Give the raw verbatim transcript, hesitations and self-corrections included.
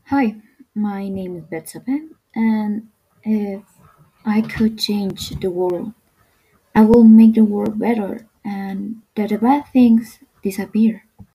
Hi, my name is Betsabe, and if I could change the world, I will make the world better and that the bad things disappear.